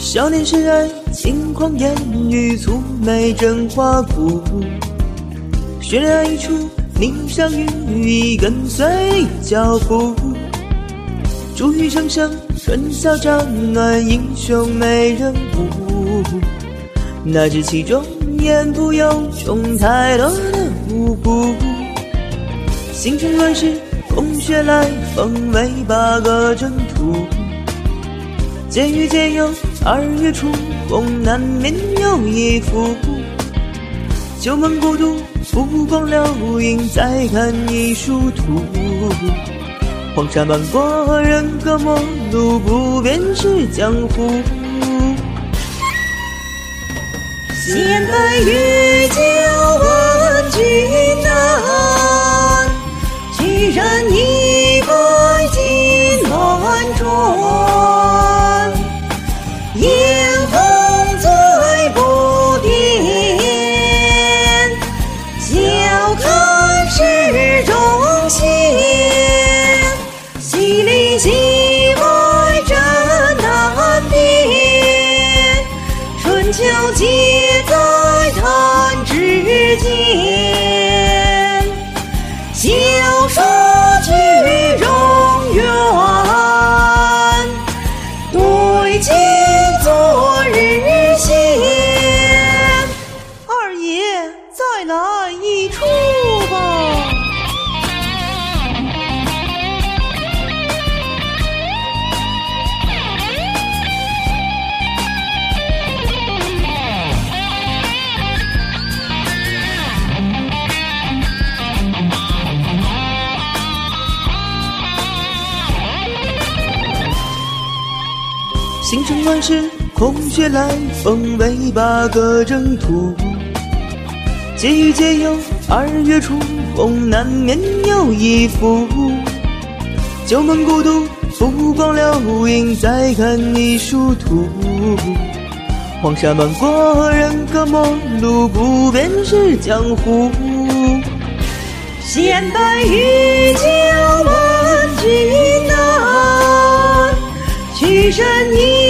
少年时爱轻狂言语，蹙眉真花骨。渲染一出霓裳羽衣，跟随脚步。珠玉声声，春宵帐暖，英雄美人舞。哪知其中言不由衷，太多的无辜。星辰乱世，空穴来风，为8个征途。皆遇皆有，2月初红，难免有一幅。旧梦孤独，浮光流影，再看一殊途。黄沙漫过，人隔陌路，不变是江湖。 闲白玉娇问君难，居然一百金乱转。烟风醉不变，笑看世中仙。戏里戏外真难辨，春秋皆在弹指间。笑说句容远，对镜昨日先。 二爷，再来一出吧。 星辰乱世，空穴来风，为8个征途。皆遇皆有，2月初红，难免有一幅。旧梦孤独，浮光流影，再看一殊途。黄沙漫过，人隔陌路，不变是江湖。 闲白玉娇问君难，曲身一